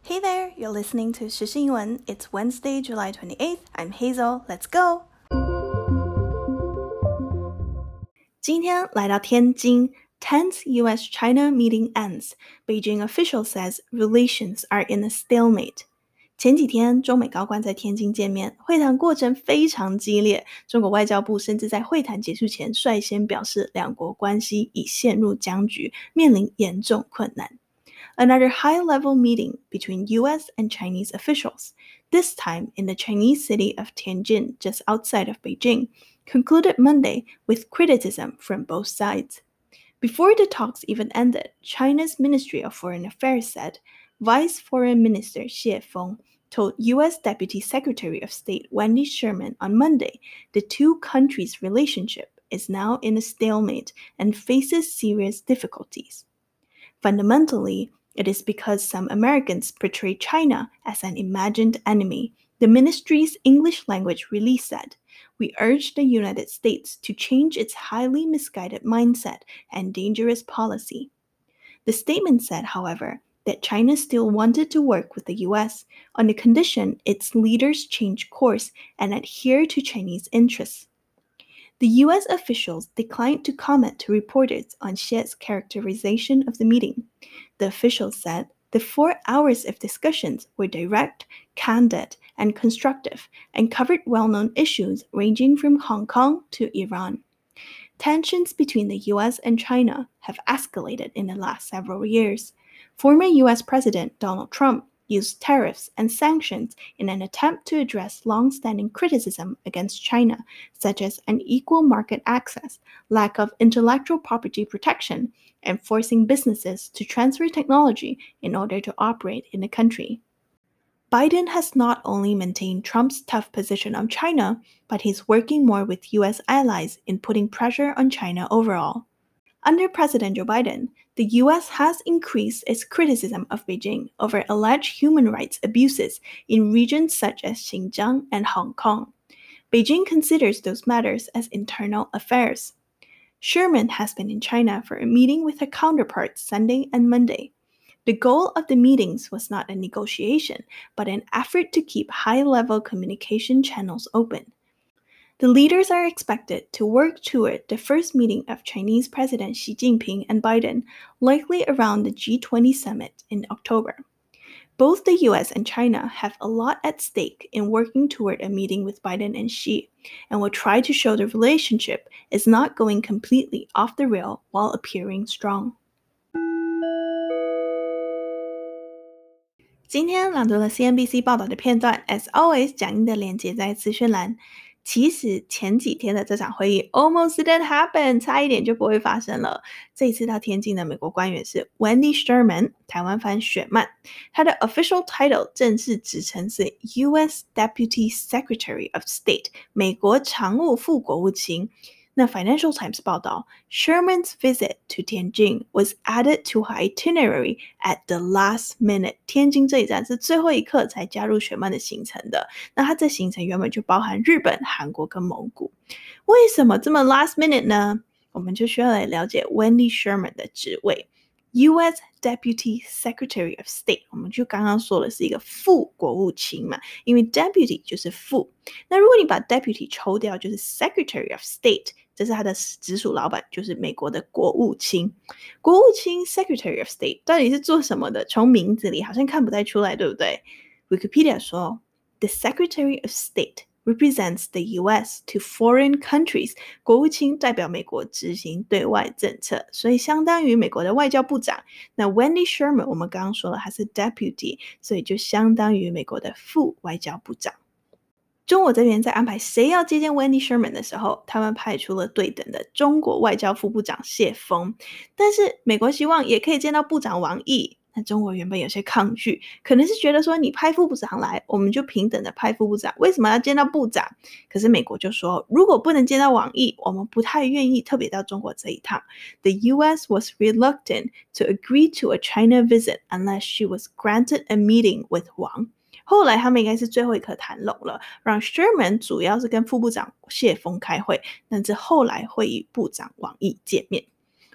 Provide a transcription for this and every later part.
Hey there, you're listening to 時事英文. It's Wednesday, July 28th. I'm Hazel. Let's go! 今天來到天津 10th US-China meeting ends. Beijing official says relations are in a stalemate. 前幾天，中美高官在天津見面，會談過程非常激烈。中國外交部甚至在會談結束前率先表示，兩國關係已陷入僵局，面臨嚴重困難。Another high-level meeting between U.S. and Chinese officials, this time in the Chinese city of Tianjin, just outside of Beijing, concluded Monday with criticism from both sides. Before the talks even ended, China's Ministry of Foreign Affairs said Vice Foreign Minister Xie Feng told U.S. Deputy Secretary of State Wendy Sherman on Monday the two countries' relationship is now in a stalemate and faces serious difficulties. Fundamentally, it is because some Americans portray China as an imagined enemy, the ministry's English language release said. We urge the United States to change its highly misguided mindset and dangerous policy. The statement said, however, that China still wanted to work with the U.S. on the condition its leaders change course and adhere to Chinese interests. The U.S. officials declined to comment to reporters on Xie's characterization of the meeting. The officials said the 4 hours of discussions were direct, candid, and constructive, and covered well-known issues ranging from Hong Kong to Iran. Tensions between the U.S. and China have escalated in the last several years. Former U.S. President Donald Trump used tariffs and sanctions in an attempt to address long-standing criticism against China, such as unequal market access, lack of intellectual property protection, and forcing businesses to transfer technology in order to operate in the country. Biden has not only maintained Trump's tough position on China, but he's working more with U.S. allies in putting pressure on China overall. Under President Joe Biden, the U.S. has increased its criticism of Beijing over alleged human rights abuses in regions such as Xinjiang and Hong Kong. Beijing considers those matters as internal affairs. Sherman has been in China for a meeting with her counterparts Sunday and Monday. The goal of the meetings was not a negotiation, but an effort to keep high-level communication channels open. The leaders are expected to work toward the first meeting of Chinese President Xi Jinping and Biden, likely around the G20 summit in October. Both the U.S. and China have a lot at stake in working toward a meeting with Biden and Xi, and will try to show the relationship is not going completely off the rail while appearing strong. 今天朗讀了 CNBC 報道的片段 ，as always， 講義的連結在資訊欄。其實前幾天的這場會議 almost didn't happen， 差一點就不會發生了。這一次到天津的美國官員是 Wendy Sherman， 台灣翻雪曼，他的 official title 正式職稱是 U.S. Deputy Secretary of State， 美國常務副國務卿。那 Financial Times 報道 Sherman's visit to Tianjin was added to her itinerary at the last minute. 天津這一站是最後一刻才加入雪曼的行程的。那它這行程原本就包含日本、韓國跟蒙古。為什麼這麼 last minute 呢？我們就需要來了解 Wendy Sherman 的職位。U.S. Deputy Secretary of State， 我們就剛剛說的是一個副國務卿嘛，因為 Deputy 就是副。那如果你把 Deputy 抽掉，就是 Secretary of State， 這是他的直屬老闆，就是美國的國務卿。國務卿 Secretary of State 到底是做什麼的？從名字裡好像看不太出來，對不對？ Wikipedia 說 The Secretary of State represents the U.S. to foreign countries. 國務卿代表美國執行對外政策，所以相當於美國的外交部長。那 Wendy Sherman 我們剛剛說了，他是 Deputy， 所以就相當於美國的副外交部長。中國這邊在安排誰要接見 Wendy Sherman 的時候，他們派出了對等的中國外交副部長謝鋒，但是美國希望也可以見到部長王毅。那中國原本有些抗拒，可能是覺得說你派副部長來，我們就平等的派副部長，為什麼要見到部長？可是美國就說，如果不能見到王毅，我們不太願意特別到中國這一趟。The U.S. was reluctant to agree to a China visit unless she was granted a meeting with Wang. 後來他們應該是最後一刻談攏了，讓 Sherman 主要是跟副部長謝鋒開會，但是後來會與部長王毅見面。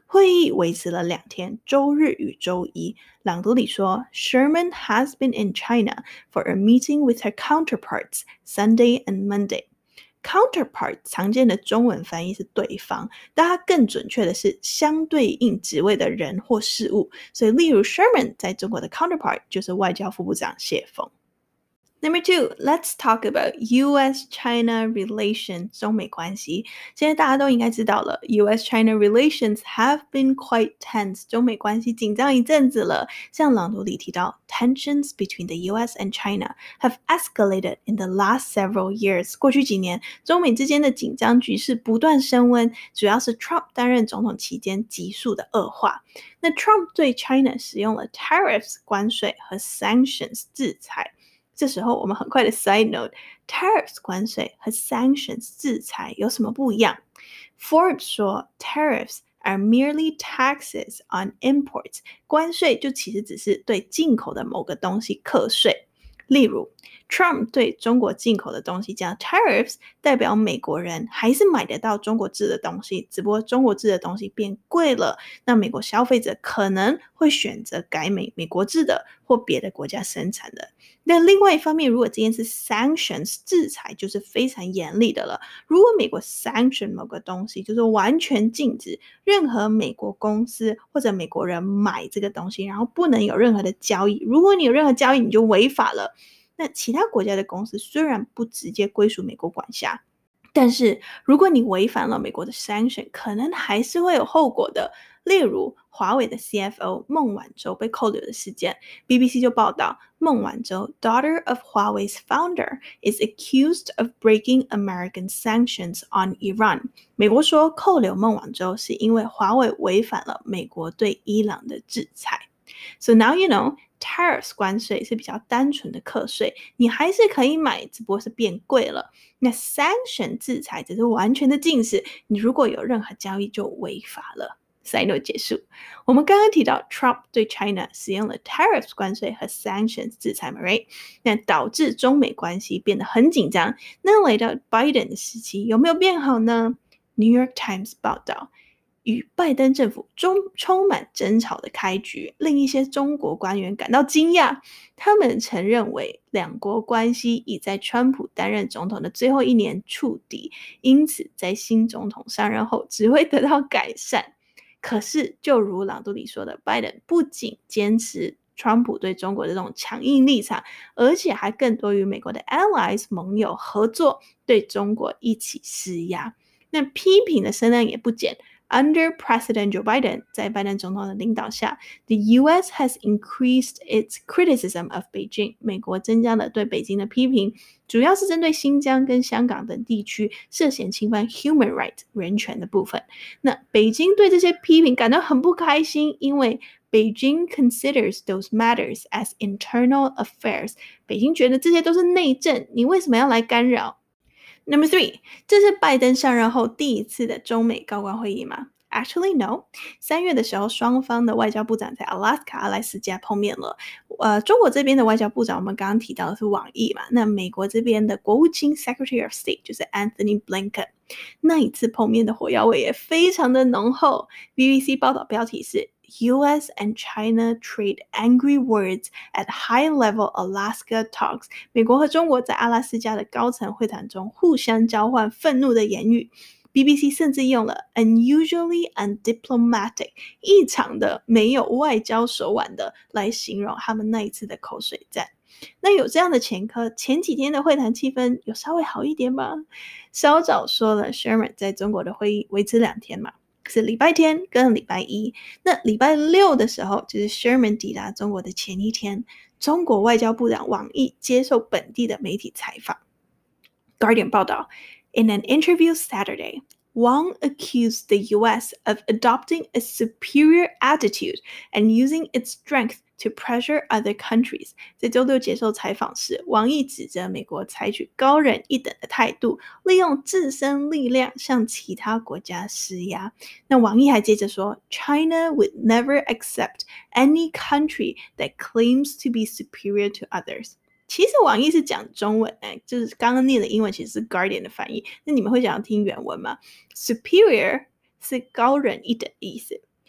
會議維持了2天，週日與週一。朗讀裡說 Sherman has been in China for a meeting with her counterparts Sunday and Monday。Counterpart 常見的中文翻譯是對方，但它更準確的是相對應職位的人或事物。所以例如 Sherman 在中國的 counterpart 就是外交副部長謝鋒。Number 2, let's talk about U.S.-China relations, 中美關係。現在大家都應該知道了 U.S.-China relations have been quite tense, 中美關係緊張一陣子了。像朗讀裡提到 Tensions between the U.S. and China have escalated in the last several years. 過去幾年，中美之間的緊張局勢不斷升溫，主要是 Trump 擔任總統期間急速的惡化。那 Trump 對 China 使用了 tariffs 關稅和 sanctions 制裁。這時候我們很快的 side note, tariffs 關稅和 sanctions 制裁有什麼不一樣？ Forbes 說 tariffs are merely taxes on imports, 關稅就其實只是對進口的某個東西課稅。例如 Trump 對中國進口的東西加 tariffs 代表美國人還是買得到中國製的東西，只不過中國製的東西變貴了，那美國消費者可能會選擇改美國製的或別的國家生產的。那另外一方面，如果今天是 sanctions 制裁，就是非常嚴厲的了。如果美國 sanction 某個東西，就是完全禁止任何美國公司或者美國人買這個東西，然後不能有任何的交易。如果你有任何交易，你就違法了。那其他國家的公司雖然不直接歸屬美國管轄，但是如果你違反了美國的 sanction， 可能還是會有後果的。例如華為的 CFO 孟晚舟被扣留的事件， BBC 就報道孟晚舟 daughter of Huawei's founder is accused of breaking American sanctions on Iran。 美國說扣留孟晚舟是因為華為違反了美國對伊朗的制裁。 So now you know tariffs 關稅是比較單純的課稅，你還是可以買，只不過是變貴了。那 sanction 制裁只是完全的禁止，你如果有任何交易就違法了。Side note 結束。我們剛剛提到 Trump 對 China 使用了 tariffs 關稅和 sanctions 制裁嘛 right？ 那導致中美關係變得很緊張。那來到 Biden 的時期有沒有變好呢？ New York Times 報道，與拜登政府充滿爭吵的開局，令一些中國官員感到驚訝。他們曾認為兩國關係已在川普擔任總統的最後1年觸底，因此在新總統上任後只會得到改善。可是就如朗讀裡說的，拜登不僅堅持川普對中國的這種強硬立場，而且還更多與美國的 allies 盟友合作，對中國一起施壓。那批評的聲量也不減。Under President Joe Biden, 在拜登總統的領導下 the US has increased its criticism of Beijing. 美國增加了對北京的批評，主要是針對新疆跟香港等地區涉嫌侵犯 human rights 人權的部分。那北京對這些批評感到很不開心，因為 Beijing considers those matters as internal affairs. 北京覺得這些都是內政，你為什麼要來干擾？Number 3, 這是拜登上任後第一次的中美高官會議嗎？ Actually no. 3月的時候，雙方的外交部長在 Alaska 阿拉斯加碰面了。中國這邊的外交部長我們剛剛提到的是王毅嘛，那美國這邊的國務卿 Secretary of State 就是 Anthony Blinken。那一次碰面的火藥味也非常的濃厚。BBC 報道標題是US and China trade angry words at high-level Alaska talks. 美國和中國在阿拉斯加的高層會談中互相交換憤怒的言語。BBC 甚至用了 unusually undiplomatic 異常的沒有外交手腕的來形容他們那一次的口水戰。那有這樣的前科，前幾天的會談氣氛有稍微好一點嗎？稍早說了 Sherman 在中國的會議維持2天嘛，是禮拜天跟禮拜一。那禮拜六的時候，就是 Sherman 抵達中國的前一天，中國外交部長王毅接受本地的媒體採訪。Guardian 報道 In an interview Saturday, Wang accused the US of adopting a superior attitude and using its strength to pressure other countries. 在周六接受採訪時，王毅指責美國採取高人一等的態度，利用自身力量向其他國家施壓。那王毅還接着說 China would never accept any country that claims to be superior to others. 其實王毅是講中文，就是剛剛念的英文其實是 Guardian 的翻譯，那你們會想要聽原文嗎？ Superior 是高人一等的意思，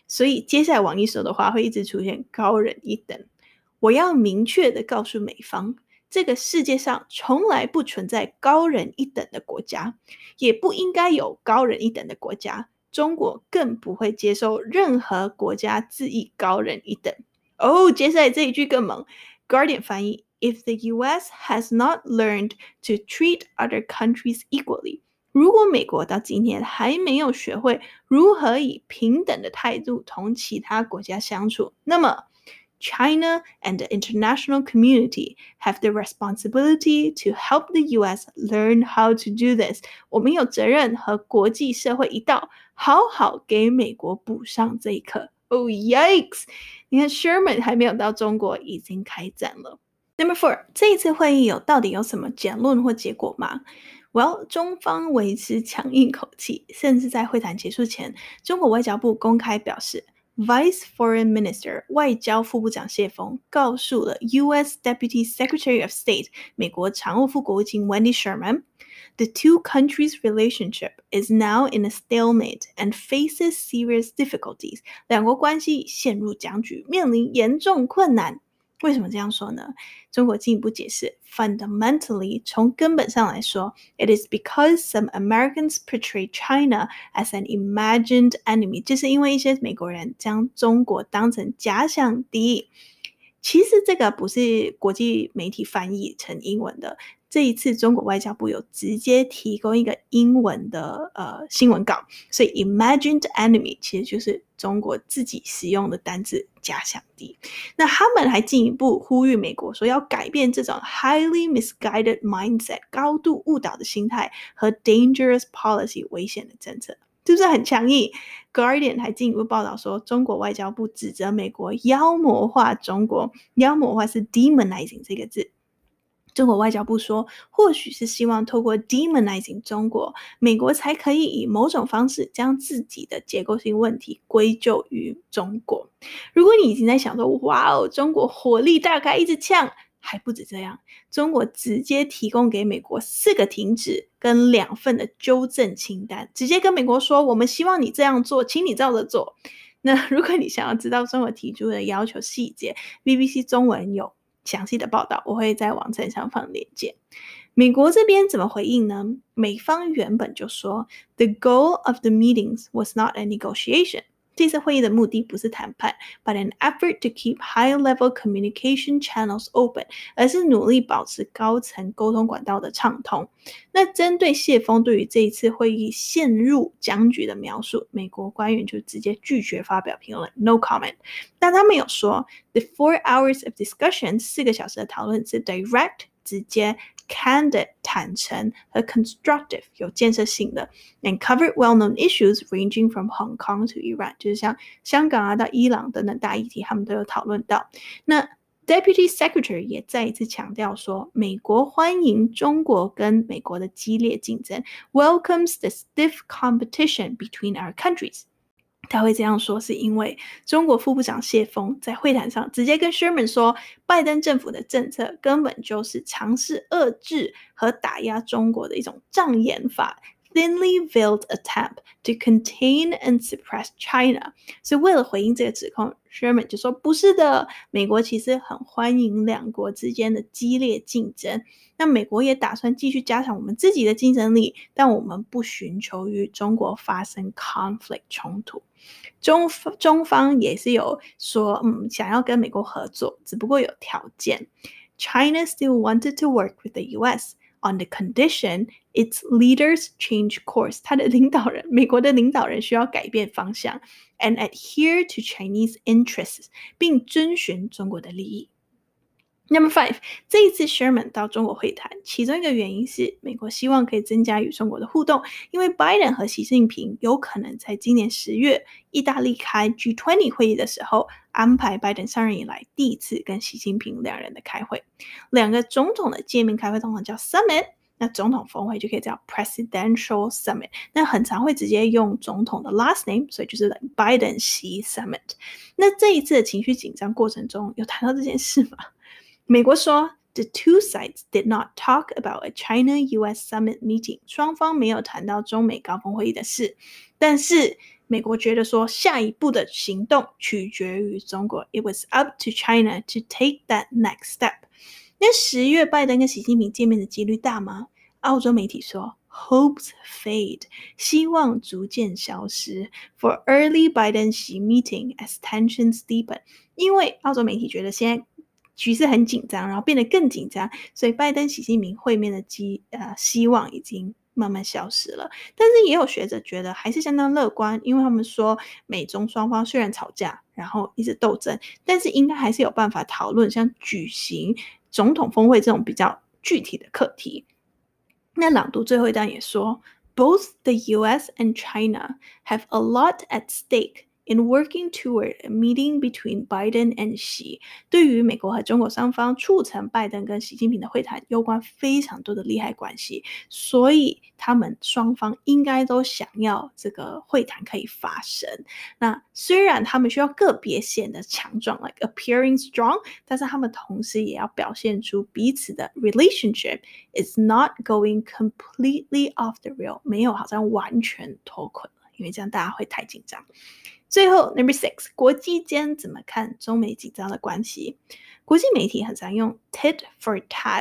所以接下來王毅說的話會一直出現高人一等。我要明確地告訴美方，這個世界上從來不存在高人一等的國家，也不應該有高人一等的國家。中國更不會接受任何國家自以高人一等。接下來這一句更猛。Guardian 翻譯 If the US has not learned to treat other countries equally， 如果美國到今天還沒有學會如何以平等的態度同其他國家相處，那麼China and the international community have the responsibility to help the US learn how to do this. 我們有責任和國際社會一道，好好給美國補上這一課。Yikes！ 你看 Sherman 還沒有到中國，已經開戰了。Number 4， 這一次會議到底有什麼結論或結果嗎？Well， 中方維持強硬口氣，甚至在會談結束前，中國外交部公開表示，Vice Foreign Minister 外交副部長謝鋒告訴了 US Deputy Secretary of State 美國常務副國務卿 Wendy Sherman，The two countries' relationship is now in a stalemate and faces serious difficulties. 兩國關係陷入僵局，面臨嚴重困難。為什麼這樣說呢？中國進一步解釋 Fundamentally， 從根本上來說 It is because some Americans portray China as an imagined enemy， 就是因為一些美國人將中國當成假想敵。其實這個不是國際媒體翻譯成英文的，這一次中國外交部有直接提供一個英文的新聞稿，所以 imagined enemy 其實就是中國自己使用的單字假想敵。那他們還進一步呼籲美國說要改變這種 highly misguided mindset 高度誤導的心態和 dangerous policy 危險的政策。是不是很強硬？ Guardian 還進一步報道說，中國外交部指責美國妖魔化中國，妖魔化是 demonizing 這個字。中國外交部說，或許是希望透過 demonizing 中國，美國才可以以某種方式將自己的結構性問題歸咎於中國。如果你已經在想說，哇哦，中國火力大開，一直嗆，還不止這樣，中國直接提供給美國4個停止跟2份的糾正清單，直接跟美國說，我們希望你這樣做，請你照着做。那如果你想要知道中國提出的要求細節， BBC 中文有詳細的報道，我會在網站上放鏈接。美國這邊怎麼回應呢？美方原本就說 The goal of the meetings was not a negotiation， 這次會議的目的不是談判 but an effort to keep high-level communication channels open， 而是努力保持高層溝通管道的暢通。那針對謝鋒對於這一次會議陷入僵局的描述，美國官員就直接拒絕發表評論 ，no comment。但他們有說 The 4 hours of discussion 4個小時的討論是 direct 直接candid 坦誠和 constructive 有建設性的 and covered well-known issues ranging from Hong Kong to Iran， 就是像香港到伊朗等等大議題他們都有討論到。那 Deputy Secretary 也再一次強調說，美國歡迎中國跟美國的激烈競爭 welcomes the stiff competition between our countries。他會這樣說是因為中國副部長謝鋒在會談上直接跟 Sherman 說，拜登政府的政策根本就是嘗試遏制和打壓中國的一種障眼法 thinly veiled attempt to contain and suppress China。 所以為了回應這個指控， Sherman 就說不是的，美國其實很歡迎兩國之間的激烈競爭，那美國也打算繼續加強我們自己的競爭力，但我們不尋求與中國發生 conflict 衝突。中方也是有說想要跟美國合作，只不過有條件。 China still wanted to work with the US on the condition its leaders change course。 他的領導人，美國的領導人需要改變方向 and adhere to Chinese interests， 並遵循中國的利益。Number 5， 這一次 Sherman 到中國會談，其中一個原因是美國希望可以增加與中國的互動，因為 Biden 和習近平有可能在今年10月意大利開 G20 會議的時候，安排 Biden 上任以來第一次跟習近平兩人的開會。兩個總統的見面開會通常叫 Summit， 那總統峰會就可以叫 Presidential Summit， 那很常會直接用總統的 last name， 所以就是 Biden 習 Summit。 那這一次的情緒緊張過程中有談到這件事嗎？美國說 The two sides did not talk about a China-US summit meeting， 雙方沒有談到中美高峰會議的事，但是美國覺得說下一步的行動取決於中國。It was up to China to take that next step. 那10月拜登跟習近平見面的幾率大嗎？澳洲媒體說 Hopes fade, 希望逐漸消失 for early Biden-Xi meeting as tensions deepen. 因為澳洲媒體覺得現在局勢很緊張，然後變得更緊張，所以拜登習近平會面的希望已經慢慢消失了。但是也有學者覺得還是相當樂觀，因為他們說美中雙方雖然吵架，然後一直鬥爭，但是應該還是有辦法討論像舉行總統峰會這種比較具體的課題。那朗讀最後一段也說 Both the US and China have a lot at stake in working toward a meeting between Biden and Xi. 对於美國和中國双方促成拜登跟習近平的會談攸關非常多的利害關係，所以他們雙方應該都想要這個會談可以發生。那雖然他們需要個別顯得強壯 like appearing strong, 但是他們同時也要表現出彼此的 relationship is not going completely off the rail, 没有好像完全脫軌了，因為這樣大家會太緊張。最後 Number 6, 國際間怎麼看中美緊張的關係？國際媒體很常用 tit for tat,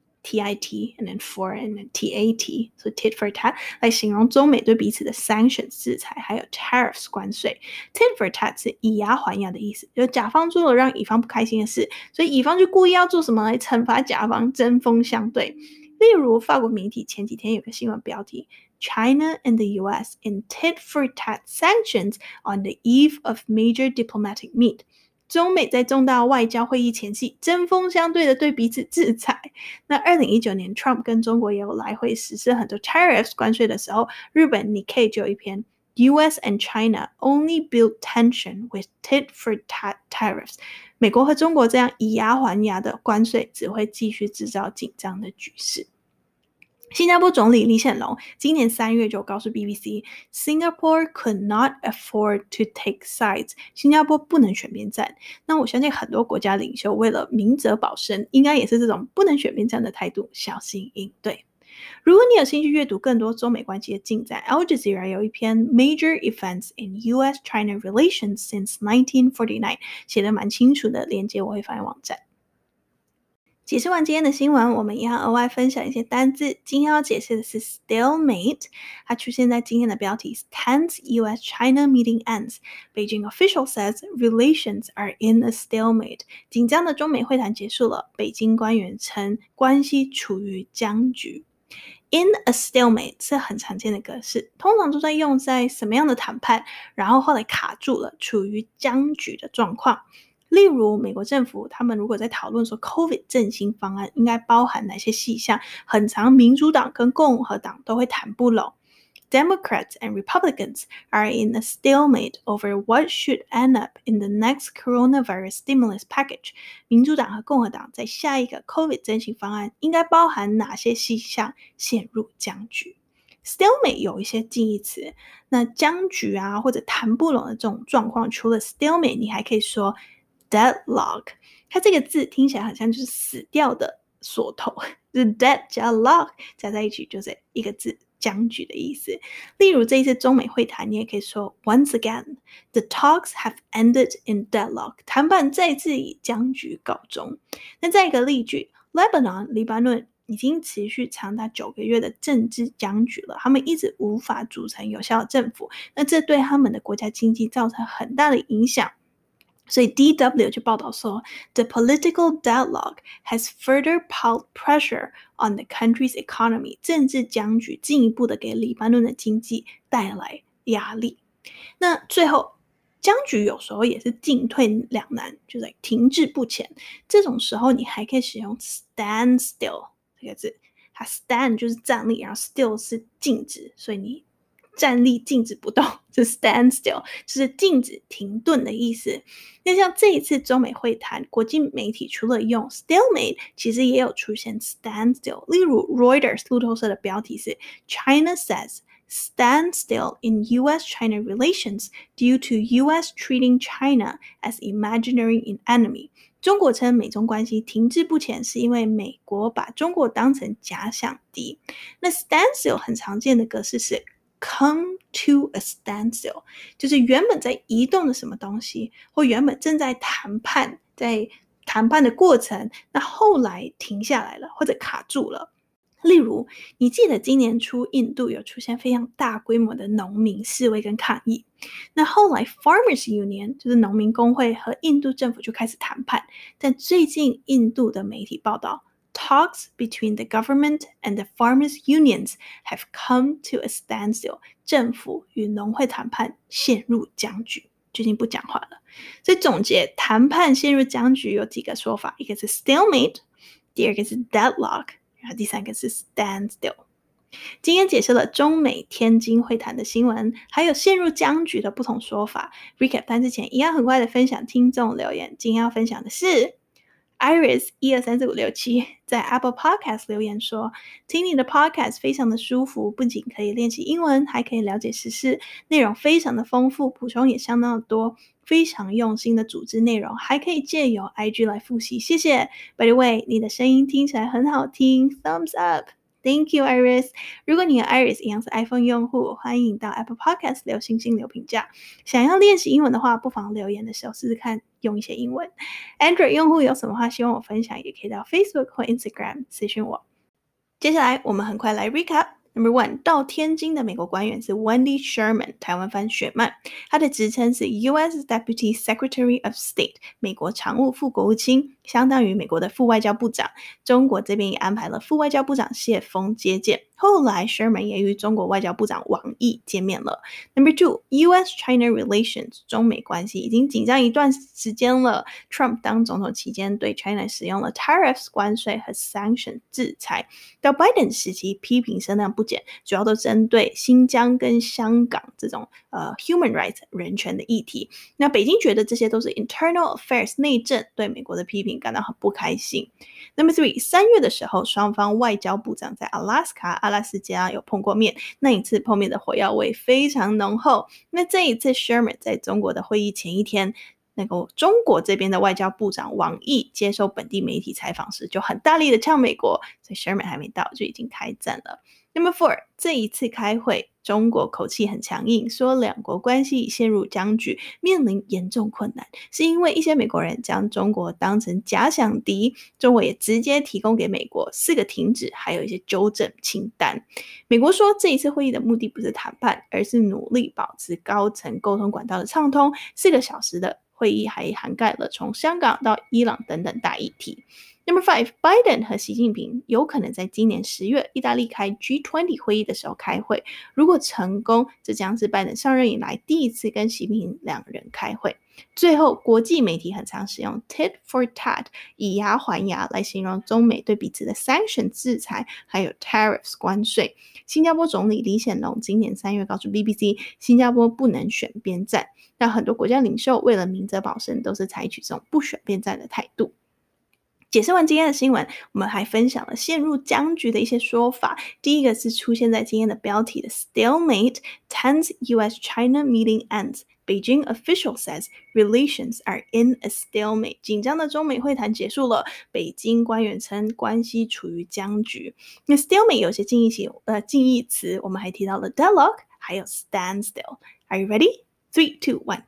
T-I-T, and then for, and then T-A-T, so tit for tat 來形容中美對彼此的 sanctions 制裁，還有 tariffs 關稅。tit for tat 是以牙還牙的意思，就甲方做了讓乙方不開心的事，所以乙方就故意要做什麼來懲罰甲方，針鋒相對。例如法國媒體前幾天有個新聞標題China and the US in tit-for-tat sanctions on the eve of major diplomatic meet. 中美在重大外交會議前夕針鋒相對的對彼此制裁。那2019年 Trump 跟中國也有來回實施很多 tariffs 關稅的時候，日本 Nikkei 就有一篇 US and China only build tension with tit-for-tat tariffs. 美國和中國這樣以牙還牙的關稅只會繼續製造緊張的局勢。新加坡總理李顯龍今年3月就告訴 BBC Singapore could not afford to take sides. 新加坡不能選邊站。那我相信很多國家領袖為了明哲保身，應該也是這種不能選邊站的態度，小心應對。如果你有興趣閱讀更多中美關係的進展， Al Jazeera 有一篇 Major Events in US-China Relations Since 1949 寫得蠻清楚的，連結我會放在網站。解釋完今天的新聞，我們也要額外分享一些單字。今天要解釋的是 stalemate， 它出現在今天的標題 Tense US-China meeting ends. Beijing official says relations are in a stalemate. 緊張的中美會談結束了，北京官員稱關係處於僵局。In a stalemate 是很常見的格式，通常都在用在什麼樣的談判，然後後來卡住了，處於僵局的狀況。例如美國政府他們如果在討論說 COVID 振興方案應該包含哪些細項，很常民主黨跟共和黨都會談不攏。Democrats and Republicans are in a stalemate over what should end up in the next coronavirus stimulus package. 民主黨和共和黨在下一個 COVID 振興方案應該包含哪些細項，陷入僵局。Stalemate 有一些近義詞，那僵局啊或者談不攏的這種狀況，除了 stalemate 你還可以說Deadlock， 它這個字聽起來好像就是死掉的鎖頭，就是 dead 加 lock 加在一起就是一個字僵局的意思。例如這一次中美會談，你也可以說 Once again, the talks have ended in deadlock. 談判再次以僵局告終。那再一個例句 Lebanon 黎巴嫩已經持續長達9個月的政治僵局了，他們一直無法組成有效的政府，那這對他們的國家經濟造成很大的影響。所以 DW 就報道說 The political deadlock has further piled pressure on the country's economy. 政治僵局進一步的給黎巴嫩的經濟帶來壓力。那最後僵局有時候也是進退兩難，就是停滯不前，這種時候你還可以使用 stand still 這個字，它 stand 就是站立，然後 still 是靜止，所以你站立靜止不動，是 stand still， 就是靜止停頓的意思。那像這一次中美會談，國際媒體除了用 stalemate， 其實也有出現 stand still。例如 Reuters 路透社的標題是 China says stand still in US-China relations due to US treating China as imaginary enemy。中國稱美中關係停滯不前是因為美國把中國當成假想敵。那 stand still 很常見的格式是 come to a standstill， 就是原本在移动的什麼東西，或原本正在谈判，在谈判的過程，那後來停下來了，或者卡住了。例如，你記得今年初印度有出現非常大規模的農民示威跟抗議，那後來 Farmers Union 就是農民工會和印度政府就開始談判，但最近印度的媒體報道，Talks between the government and the farmers' unions have come to a standstill. 政府與農會談判陷入僵局，最近不講話了。所以總結，談判陷入僵局有幾個說法，一個是 stalemate， 第二個是 deadlock， 然後第三個是 standstill。今天解釋了中美天津會談的新聞，還有陷入僵局的不同說法。Recap 單之前，一樣很快的分享聽眾留言。今天要分享的是Iris 123456在 Apple Podcast 留言說，聽你的 Podcast 非常的舒服，不僅可以練習英文，還可以了解時事，內容非常的豐富，補充也相當的多，非常用心的組織內容，還可以借由 IG 來複習，謝謝。By the way， 你的聲音聽起來很好聽 ，Thumbs up。Thank you, Iris. 如果你和 Iris 一樣是 iPhone 用戶，歡迎到 Apple Podcast 留星星留評價。想要練習英文的話，不妨留言的時候試試看用一些英文。Android 用戶有什麼話希望我分享，也可以到 Facebook 或 Instagram 私訊我。接下來我們很快來 recap。Number 1， 到天津的美國官員是 Wendy Sherman， 台灣翻雪曼，他的職稱是 US Deputy Secretary of State， 美國常務副國務卿，相當於美國的副外交部長。中國這邊也安排了副外交部長謝鋒接見。後來 Sherman 也與中國外交部長王毅見面了。Number 2， US-China relations， 中美關係已經緊張一段時間了。Trump 當總統期間對 China 使用了 tariffs 關稅和 sanction 制裁，到 Biden 時期批評聲量不減，主要都針對新疆跟香港這種human rights 人權的議題。那北京覺得這些都是 internal affairs 內政，對美國的批評感到很不開心。Number 3， 3月的時候，雙方外交部長在 阿拉斯加有碰過面，那一次碰面的火藥味非常濃厚。那這一次 Sherman 在中國的會議前一天，那個中國這邊的外交部長王毅接受本地媒體採訪時，就很大力的嗆美國，所以 Sherman 還沒到就已經開戰了。Number 4， 這一次開會，中國口氣很強硬，說兩國關係已陷入僵局，面臨嚴重困難，是因為一些美國人將中國當成假想敵，中國也直接提供給美國4個停止，還有一些糾正清單。美國說這一次會議的目的不是談判，而是努力保持高層溝通管道的暢通。4個小時的會議還涵蓋了從香港到伊朗等等大議題。Number 5， Biden 和習近平有可能在今年10月意大利開 G20 會議的時候開會，如果成功，這將是拜登上任以來第一次跟習近平兩人開會。最後，國際媒體很常使用 tit for tat 以牙還牙來形容中美對彼此的 sanction 制裁，還有 tariffs 關稅。新加坡總理李顯龍今年3月告訴 BBC， 新加坡不能選邊站，但很多國家領袖為了明哲保身，都是採取這種不選邊站的態度。解釋完今天的新聞，我們還分享了陷入僵局的一些說法。第一個是出現在今天的標題的 Stalemate, tense US-China meeting ends. Beijing official says relations are in a stalemate. 緊張的中美會談結束了，北京官員稱關係處於僵局。那 stalemate 有些近義詞，我們還提到了 deadlock， 還有 standstill. Are you ready? 3, 2, 1,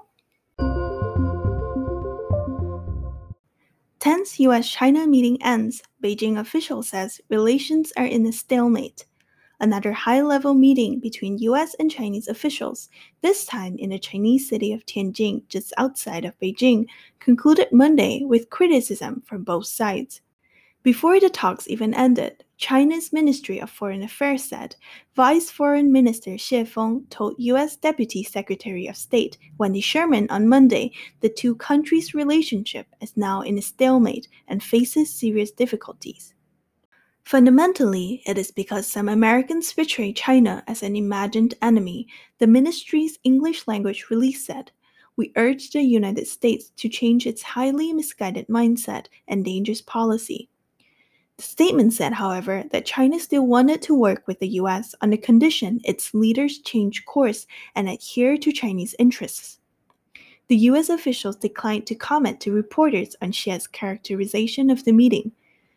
go!Tense US-China meeting ends. Beijing official says relations are in a stalemate. Another high-level meeting between US and Chinese officials, this time in the Chinese city of Tianjin, just outside of Beijing, concluded Monday with criticism from both sides. Before the talks even ended, China's Ministry of Foreign Affairs said Vice Foreign Minister Xie Feng told U.S. Deputy Secretary of State Wendy Sherman on Monday the two countries' relationship is now in a stalemate and faces serious difficulties. Fundamentally, it is because some Americans portray China as an imagined enemy, the ministry's English language release said. We urge the United States to change its highly misguided mindset and dangerous policy.The statement said, however, that China still wanted to work with the U.S. on the condition its leaders change course and adhere to Chinese interests. The U.S. officials declined to comment to reporters on Xi's characterization of the meeting.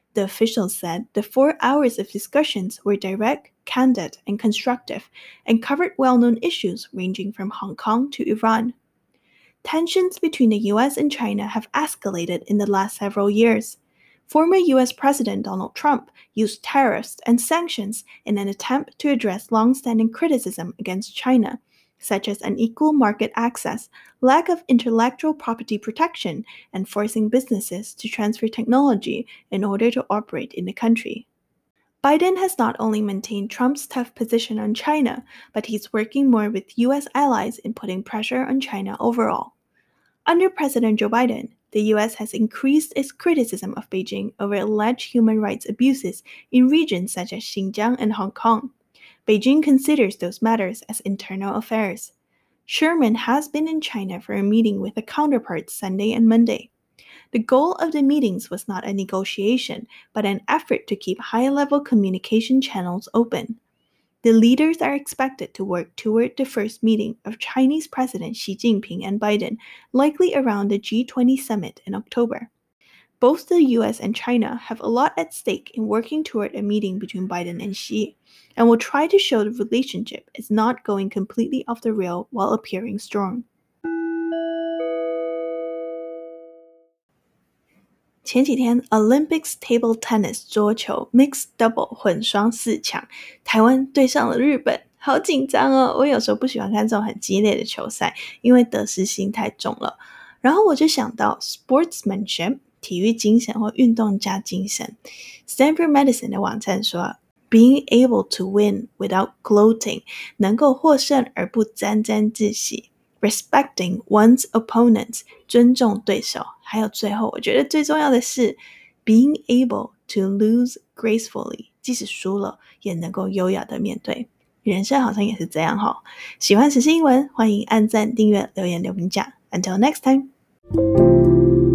The officials said the 4 hours of discussions were direct, candid, and constructive, and covered well-known issues ranging from Hong Kong to Iran. Tensions between the US and China have escalated in the last several years. Former US President Donald Trump used tariffs and sanctions in an attempt to address long-standing criticism against China, such as unequal market access, lack of intellectual property protection, and forcing businesses to transfer technology in order to operate in the country. Biden has not only maintained Trump's tough position on China, but he's working more with US allies in putting pressure on China overall. Under President Joe Biden, the US has increased its criticism of Beijing over alleged human rights abuses in regions such as Xinjiang and Hong Kong. Beijing considers those matters as internal affairs. Sherman has been in China for a meeting with a counterpart Sunday and Monday. The goal of the meetings was not a negotiation, but an effort to keep high-level communication channels open. The leaders are expected to work toward the first meeting of Chinese President Xi Jinping and Biden, likely around the G20 summit in October. Both the US and China have a lot at stake in working toward a meeting between Biden and Xi, and will try to show the relationship is not going completely off the rail while appearing strong. 前幾天 Olympics Table Tennis 桌球 Mixed Double 混雙4強，台灣對上了日本，好緊張哦！我有時候不喜歡看這種很激烈的球賽，因為得失心太重了。然後我就想到 sportsmanship 體育精神或運動家精神。Stanford Medicine 的網站說 Being able to win without gloating 能夠獲勝而不沾沾自喜。Respecting one's opponents 尊重對手。還有最後我覺得最重要的是 Being able to lose gracefully 即使輸了也能夠優雅的面對。人生好像也是這樣齁。喜歡時事英文歡迎按讚訂閱留言留評價。Until next time